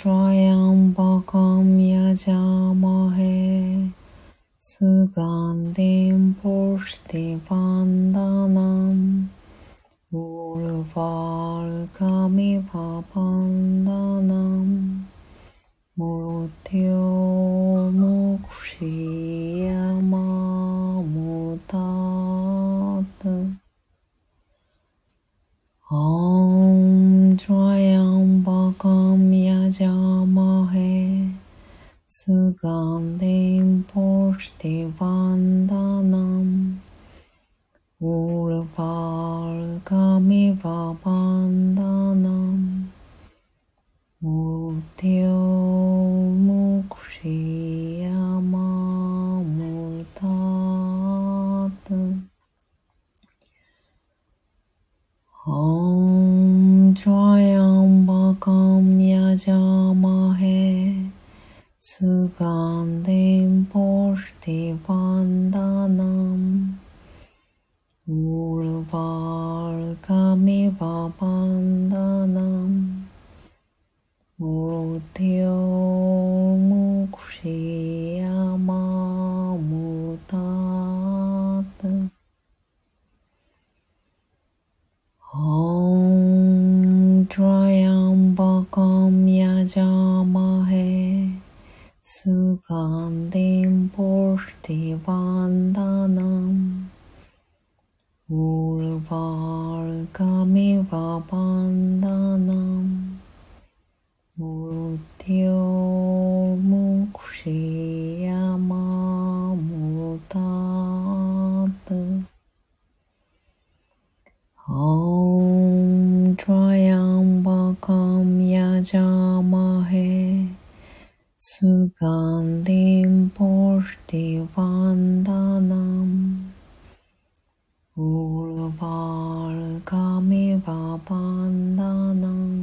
Trayambakam yajamahe Sugandhim pushtivandanam Urvarkamiva bandhanam Murtyomukshiyamamutat Om Trayambakam yajamahe Sugandhim pushtivandanam Urvarkamiva bandhanam Murtyomukshiyamamutat Om Trayambakam yajamahe Sugandhim pushtivandanam Urvarkamiva bandhanam Murtyomukshiyamamutat Om Trayambakam yajamahe Sugandhim pushtivandanam Urvarkamiva bandhanam Murtyomukshiyamamutat Om Trayambakam yajamahe Sugandhim pushtivandanam Urvarkamiva bandhanam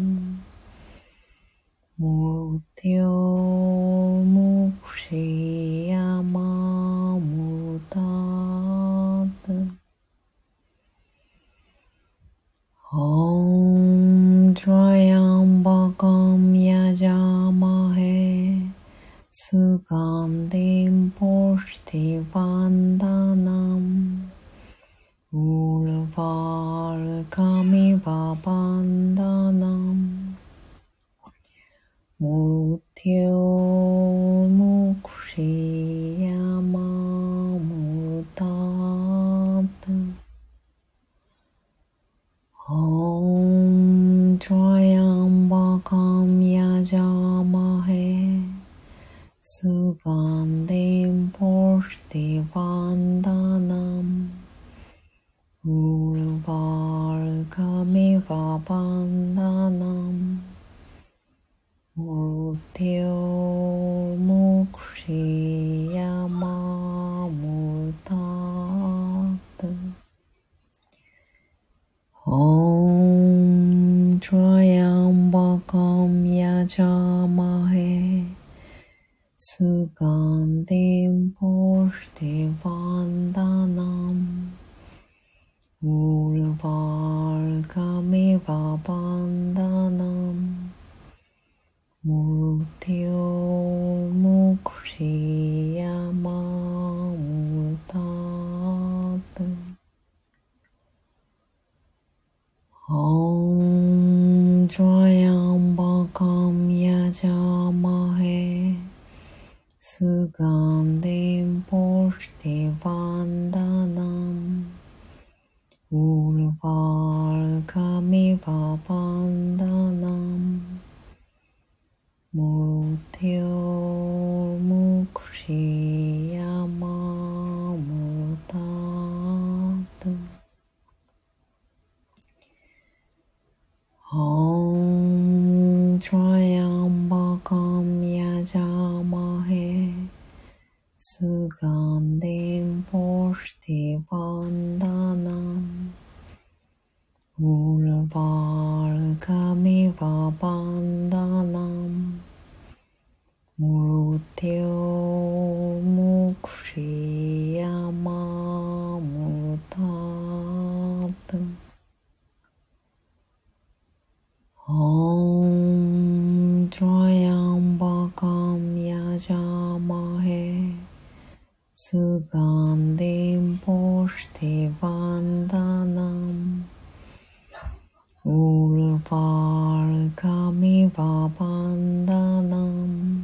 Murtyomukshiyamamutat Om Trayambakam yajamahe Sugandhim pushtivandanam Urvarkamiva bandhanam Murtyomukshiyamamutat Om Trayambakam yajamahe Sugandhim pushtivandanam Urvarkamiva bandhanam Murtyomukshiyamamutat Om Trayambakam yajamahe Sugandhim pushtivandanam Urvarkamiva bandhanam Murtyomukshiyamamutat Om Trayambakam yajamahe Sugandhim pushtivandanam Urvarkamiva bandhanam Murtyomukshiyamamutat Om Trayambakam yajamahe Sugandhim pushtivandanam Urvarkamiva bandhanam Murtyomukshiyamamutat Om Trayambakam Kamiva Bandhanam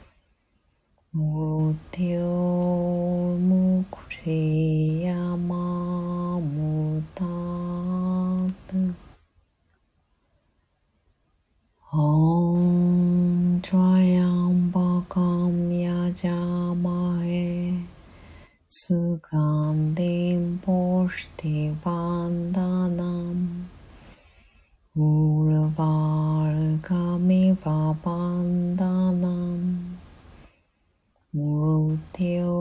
Murtyo Mukshiyamamutat Om Trayambakam Yajamahe Sugandhim Pushtivandanam Urvarkamiva Bandhanam Murtyo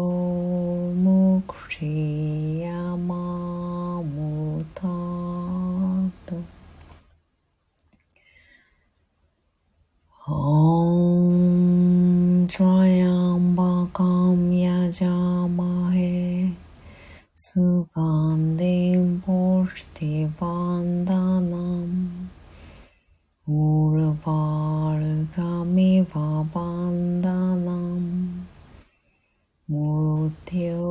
Mukshiyamamutat Om Trayambakam Yajamahe Sugandhim Pushtivandanam Urvarkamiva Bandhanam Murtyo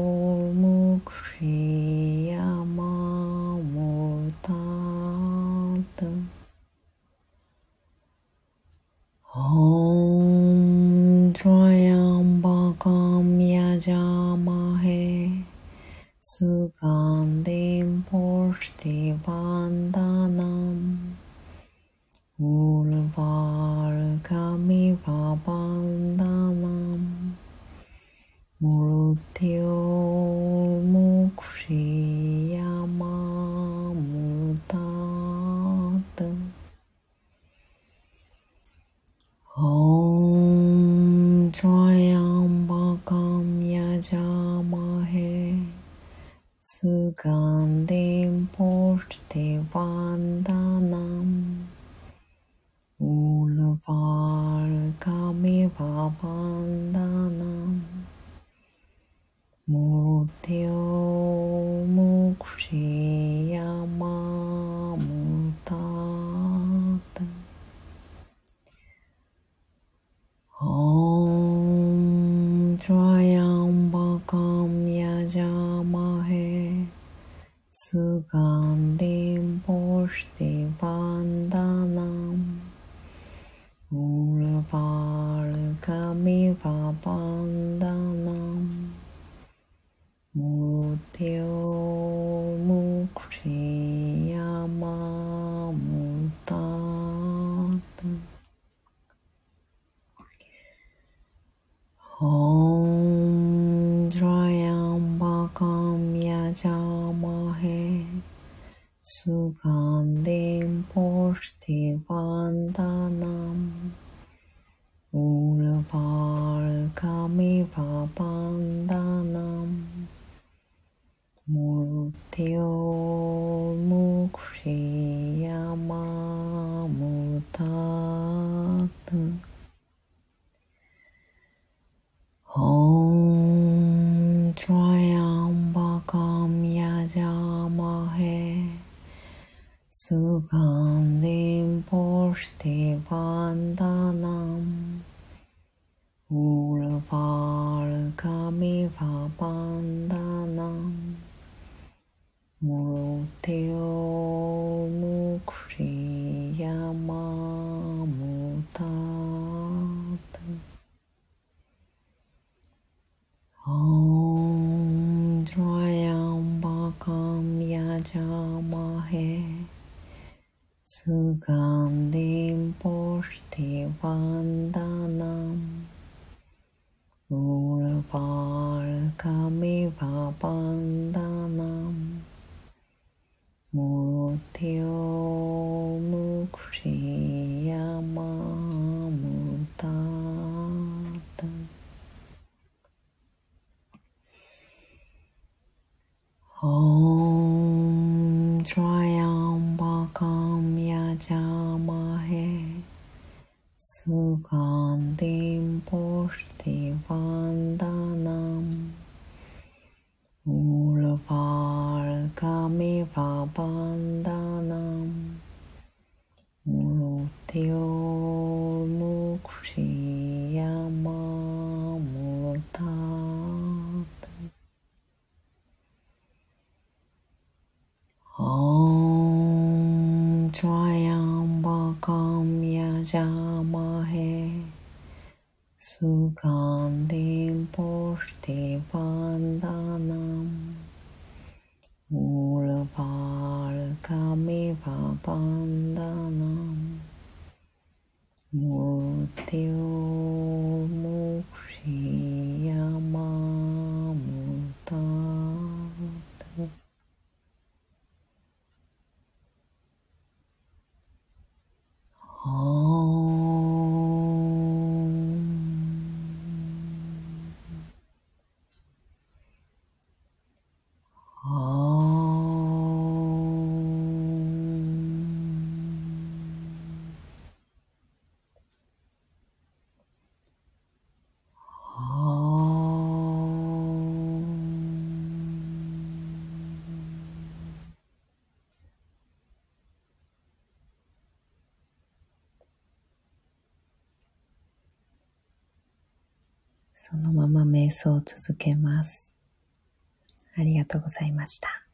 Mukshiyamamutat Om Trayambakam Yajamahe Sugandhim Pushtivandanam Urvarkamiva Bandhanam Murtyo Mukshiyamamutat Om Trayambakam Yajamahe Sugandhim Pushtivandanam Urvarkamiva Bandhanam Murtyo Mukshiyamamutat Om Trayambakam Yajamahe Sugandhim Pushtivandanam Urvarkamiva Bandhanam Murtyo Mukshiyamamutat Om Trayambakam Yajamahe Sugandhim Pushtivandanam Urvarkamiva Bandhanam Murtyo Mukshiyamamutat Om Trayambakam Yajamahe Sugandhim Pushtivandanam Urvarkamiva Bandhanam Murtyo Mukshiyamamutat Om Trayambakam Yajamahe Sugandhim Pushtivandanam Urvarkamiva Bandhanam Murtyo Mukshiyamamutat Om Trayambakam Yajamahe Sugandhim Pushtivandanam Urvarkamiva Bandhanam Murtyo Mukshiyamamutat Om Trayambakam pujamahe Sugandhim pushti vandanam Urvarkamiva vandanam Murtyomukshiyamamutat.そのまま瞑想を続けます。ありがとうございました。